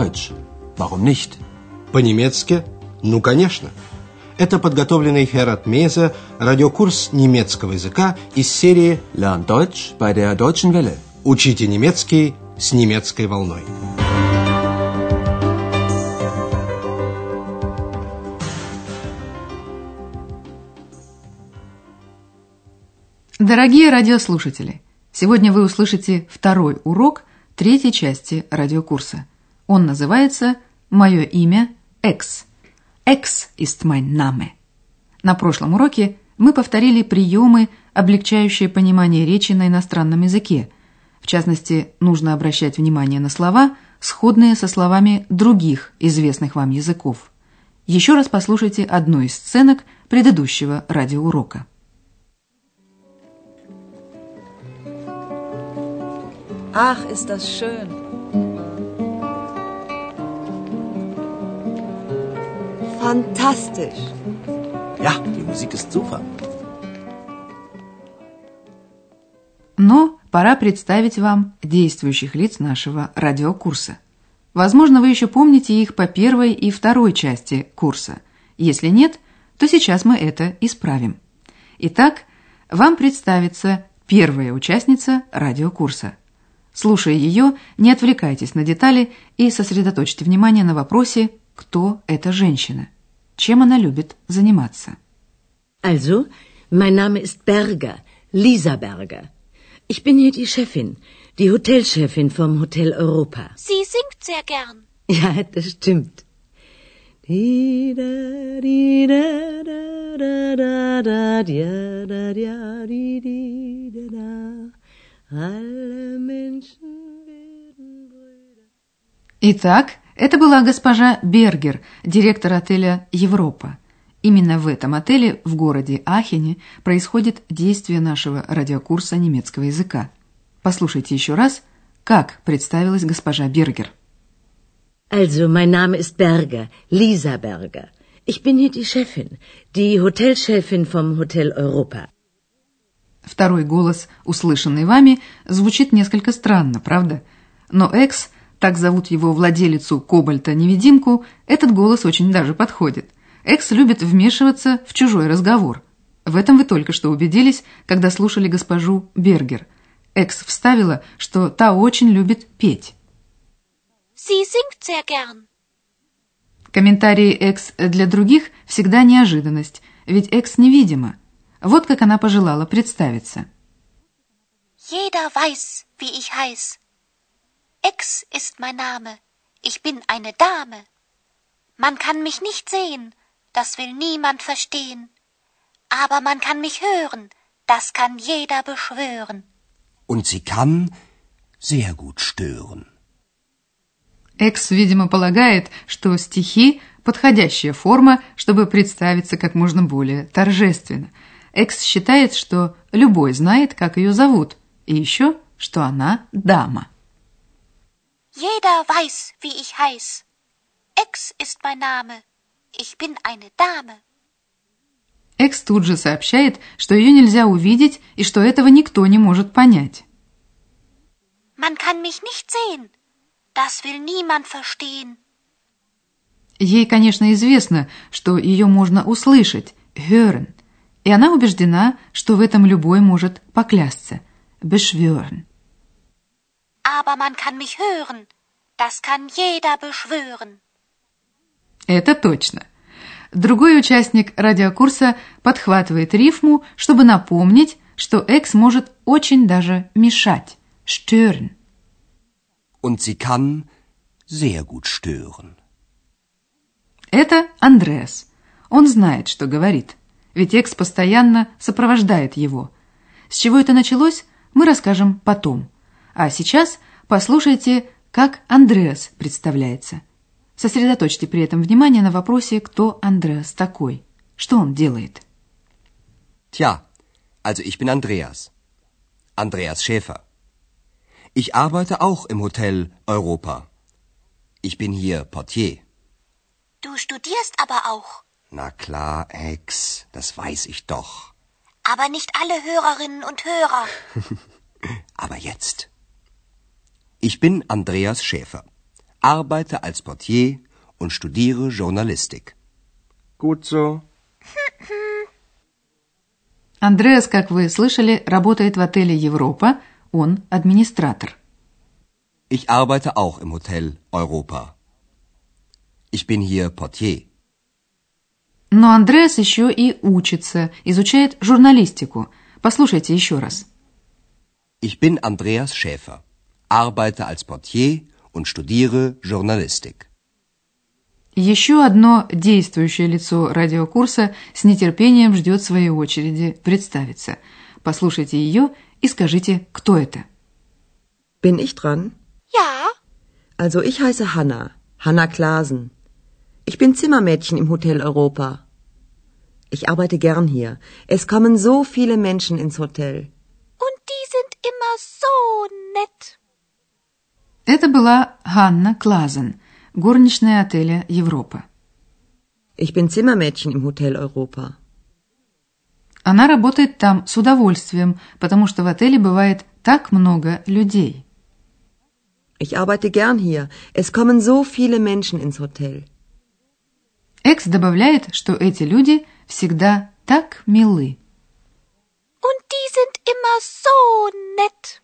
Deutsch. Warum nicht? По-немецки? Ну, конечно. Это подготовленный Херат Мейзе радиокурс немецкого языка из серии Lern Deutsch bei der Deutschen Welle. «Учите немецкий с немецкой волной». Дорогие радиослушатели, сегодня вы услышите второй урок третьей части радиокурса. Он называется «Мое имя Экс». «Экс ist mein Name». На прошлом уроке мы повторили приемы, облегчающие понимание речи на иностранном языке. В частности, нужно обращать внимание на слова, сходные со словами других известных вам языков. Еще раз послушайте одну из сценок предыдущего радиоурока. Ach, ist das schön. Fantastisch. Ja, die Musik ist super. Но пора представить вам действующих лиц нашего радиокурса. Возможно, вы еще помните их по первой и второй части курса. Если нет, то сейчас мы это исправим. Итак, вам представится первая участница радиокурса. Слушая ее, не отвлекайтесь на детали и сосредоточьте внимание на вопросе, кто эта женщина, чем она любит заниматься. Also, mein Name ist Berger, Lisa Berger. Ich bin hier die Chefin, die Hotelchefin vom Hotel Europa. Sie singt sehr gern. Ja, das stimmt. Итак, это была госпожа Бергер, директор отеля «Европа». Именно в этом отеле в городе Ахене происходит действие нашего радиокурса немецкого языка. Послушайте еще раз, как представилась госпожа Бергер. Also, mein Name ist Berger, Lisa Berger. Ich bin hier die Chefin, die Hotelchefin vom Hotel Europa. Второй голос, услышанный вами, звучит несколько странно, правда? Но Экс, так зовут его владелицу Кобальта-невидимку, этот голос очень даже подходит. Экс любит вмешиваться в чужой разговор. В этом вы только что убедились, когда слушали госпожу Бергер. Экс вставила, что та очень любит петь. Sie singt sehr gern. Комментарии Экс для других всегда неожиданность, ведь Экс невидима. Вот как она пожелала представиться. Jeder weiß, wie ich heiß. Ex ist mein Name. Ich bin eine Dame. Man kann mich nicht sehen, das will niemand verstehen. Aber man kann mich hören, das kann jeder beschwören. Und sie kann sehr gut stören. Экс, видимо, полагает, что стихи – подходящая форма, чтобы представиться как можно более торжественно. Экс считает, что любой знает, как ее зовут, и еще, что она дама. Jeder weiß, wie ich heiß. Ex ist mein Name. Ich bin eine Dame. Экс тут же сообщает, что ее нельзя увидеть и что этого никто не может понять. Man kann mich nicht sehen. Das will niemand verstehen. Ей, конечно, известно, что ее можно услышать, hören, и она убеждена, что в этом любой может поклясться, beschwören. Aber man kann mich hören. Das kann jeder beschwören. Это точно. Другой участник радиокурса подхватывает рифму, чтобы напомнить, что Экс может очень даже мешать, stören. Und sie kann sehr gut stören. Это Андреас. Он знает, что говорит, ведь Экс постоянно сопровождает его. С чего это началось, мы расскажем потом. А сейчас послушайте, как Андреас представляется. Сосредоточьте при этом внимание на вопросе, кто Андреас такой, что он делает. Tja, also ich bin Andreas. Andreas Schäfer. Ich arbeite auch im Hotel Europa. Ich bin hier Portier. Du studierst aber auch. Na klar, Ex, das weiß ich doch. Aber nicht alle Hörerinnen und Hörer. Aber jetzt. Ich bin Andreas Schäfer. arbeite als Portier und studiere Journalistik. Gut so. Андреас, как вы слышали, работает в отеле «Европа», он администратор. Ich arbeite auch im Hotel Europa. Ich bin hier Portier. Но Андреас еще и учится, изучает журналистику. Послушайте еще раз. Ich bin Andreas Schäfer, arbeite als Portier und studiere Journalistik. Еще одно действующее лицо радиокурса с нетерпением ждет своей очереди представиться. Послушайте ее и скажите, кто это. Bin ich dran? Ja, Also ich heiße Hanna, Hanna Klaasen. Ich bin Zimmermädchen im Hotel Europa. Ich arbeite gern hier. Es kommen so viele Menschen ins Hotel. und die sind immer so nett. Это была Ханна Клазен, горничная отеля «Европа». Ich bin Zimmermädchen im Hotel Europa. Она работает там с удовольствием, потому что в отеле бывает так много людей. Ich arbeite gern hier. Es kommen so viele Menschen ins Hotel. Экс добавляет, что эти люди всегда так милы. Und die sind immer so nett.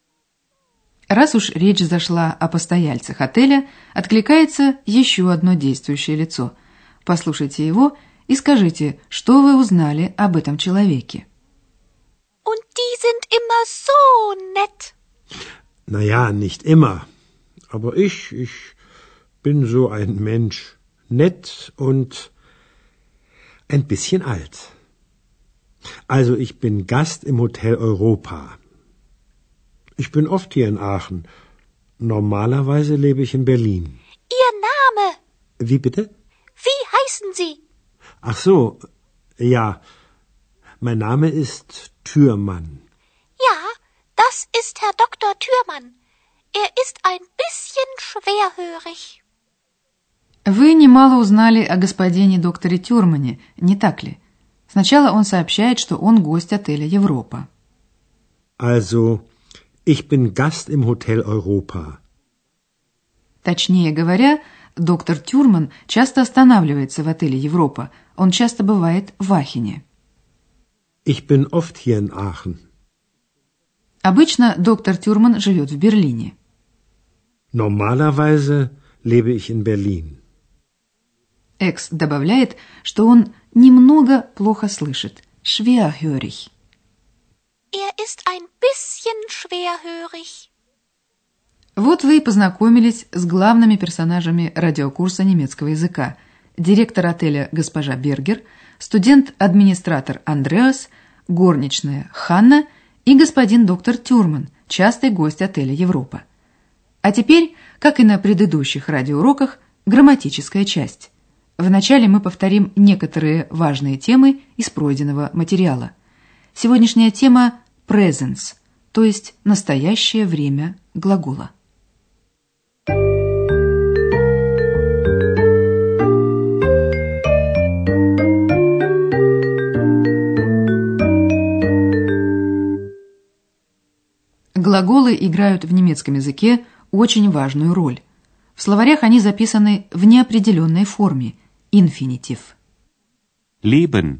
Раз уж речь зашла о постояльцах отеля, откликается еще одно действующее лицо. Послушайте его и скажите, что вы узнали об этом человеке. Und die sind immer so nett. Naja, nicht immer. Aber ich bin so ein Mensch. Nett und ein bisschen alt. Also ich bin Gast im Hotel Europa. Ich bin oft hier in Aachen. Normalerweise lebe ich in Berlin. Ihr Name? Wie bitte? Wie heißen Sie? Ach so, ja. Mein Name ist Thürmann. Ja, das ist Herr Dr. Thürmann. Er ist ein bisschen schwerhörig. Вы немало узнали о господине докторе Тюрмане, не так ли? Сначала он сообщает, что он гость отеля «Европа». Also, ich bin Gast im Hotel Europa. Точнее говоря, доктор Тюрман часто останавливается в отеле «Европа». Он часто бывает в Ахене. Ich bin oft hier in Aachen. Обычно доктор Тюрман живет в Берлине. Normalerweise lebe ich in Berlin. Экс добавляет, что он немного плохо слышит. Schwerhörig. Er ist ein bisschen schwerhörig. Вот вы и познакомились с главными персонажами радиокурса немецкого языка. Директор отеля госпожа Бергер, студент-администратор Андреас, горничная Ханна и господин доктор Тюрман, частый гость отеля «Европа». А теперь, как и на предыдущих радиоуроках, грамматическая часть. Вначале мы повторим некоторые важные темы из пройденного материала. Сегодняшняя тема – presence, то есть настоящее время глагола. Глаголы играют в немецком языке очень важную роль. В словарях они записаны в неопределенной форме – инфинитив. Leben.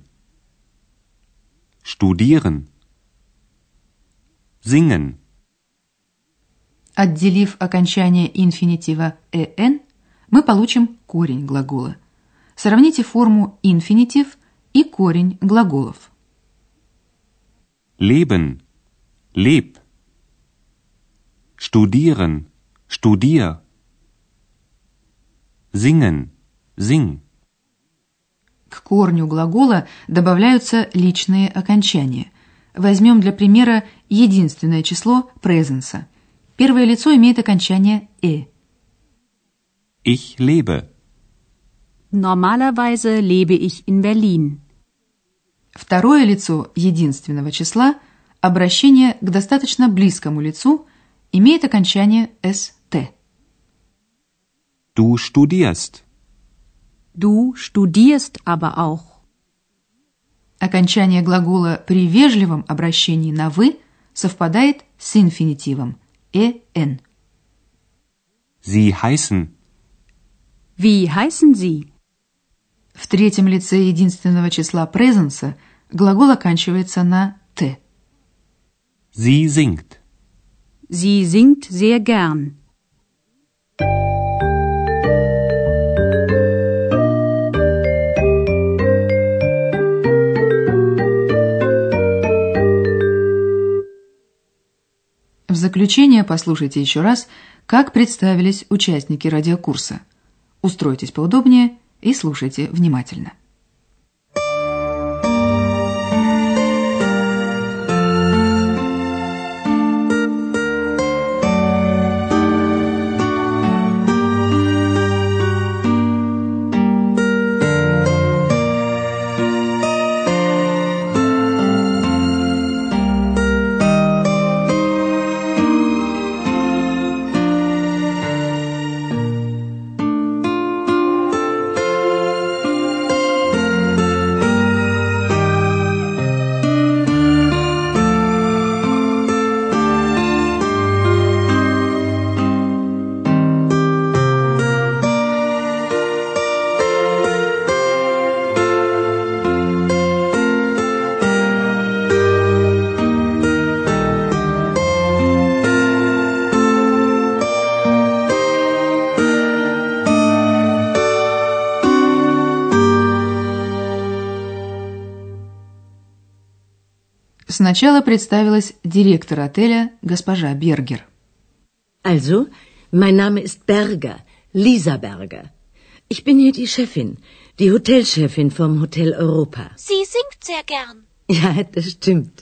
Studieren. Singen. Отделив окончание инфинитива «эн», мы получим корень глагола. Сравните форму инфинитив и корень глаголов. Leben. Leb. Studieren. Studier. Singen. Sing. К корню глагола добавляются личные окончания. Возьмем для примера единственное число presence. Первое лицо имеет окончание «э». Ich lebe. Normalerweise lebe ich in Berlin. Второе лицо единственного числа, обращение к достаточно близкому лицу, имеет окончание «ст». Du studierst. Du studierst aber auch. Окончание глагола при вежливом обращении на «вы» совпадает с инфинитивом «эн». Sie heißen. Wie heißen Sie? В третьем лице единственного числа presence глагол оканчивается на «т». Sie singt. Sie singt sehr gern. В заключение послушайте еще раз, как представились участники радиокурса. Устройтесь поудобнее и слушайте внимательно. Сначала представилась директор отеля госпожа Бергер. Also, mein Name ist Berger, Lisa Berger. Ich bin hier die Chefin, die Hotelchefin vom Hotel Europa. Sie singt sehr gern. Ja, das stimmt.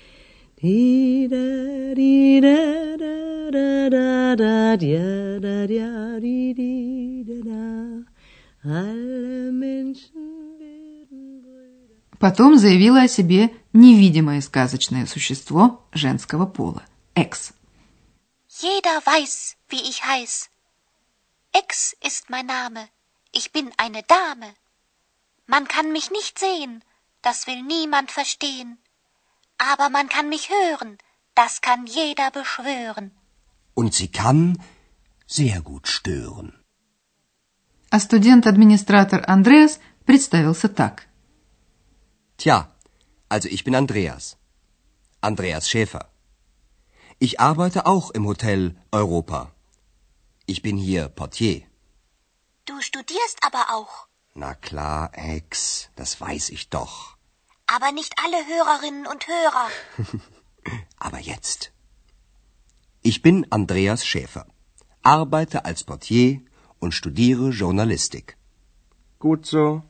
Alle Menschen werden Brüder. Потом заявила о себе невидимое сказочное существо женского пола – Экс. Jeder weiß, wie ich heiß. Ex ist mein Name. Ich bin eine Dame. Man kann mich nicht sehen, das will niemand verstehen. Aber man kann mich hören, das kann jeder beschwören. Und sie kann sehr gut stören. А студент-администратор Андреас представился так. Tja, also ich bin Andreas. Andreas Schäfer. Ich arbeite auch im Hotel Europa. Ich bin hier Portier. Du studierst aber auch. Na klar, Ex, das weiß ich doch. Aber nicht alle Hörerinnen und Hörer. Aber jetzt. Ich bin Andreas Schäfer, arbeite als Portier und studiere Journalistik. Gut so.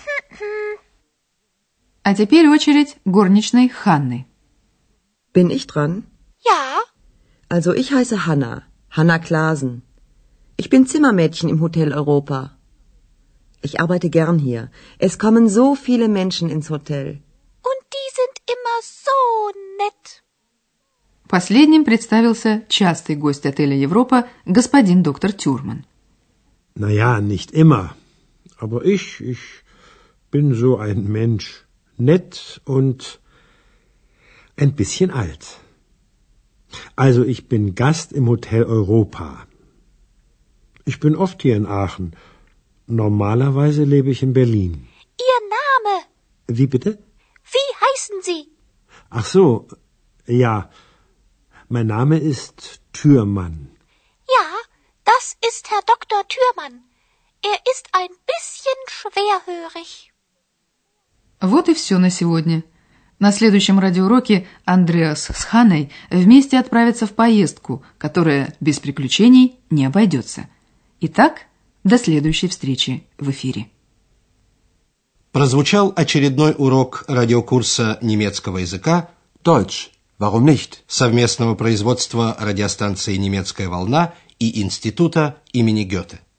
А теперь очередь горничной Ханны. Bin ich dran? Ja, Also ich heiße Hanna, Hanna Klasen. Ich bin Zimmermädchen im Hotel Europa. Ich arbeite gern hier. Es kommen so viele Menschen ins Hotel. und die sind immer so nett. Последним представился частый гость отеля Европа господин доктор Тюрман. Naja, nicht immer. Aber ich bin so ein Mensch. Nett und ein bisschen alt. Also ich bin Gast im Hotel Europa. Ich bin oft hier in Aachen. Normalerweise lebe ich in Berlin. Ihr Name, Wie bitte? wie heißen Sie? Ach so, ja. Mein Name ist Thürmann. Ja, das ist Herr Dr. Thürmann. Er ist ein bisschen schwerhörig. Вот и все на сегодня. На следующем радиоуроке Андреас с Ханной вместе отправятся в поездку, которая без приключений не обойдется. Итак, до следующей встречи в эфире. Прозвучал очередной урок радиокурса немецкого языка Deutsch, warum nicht? совместного производства радиостанции «Немецкая волна» и Института имени Гёте.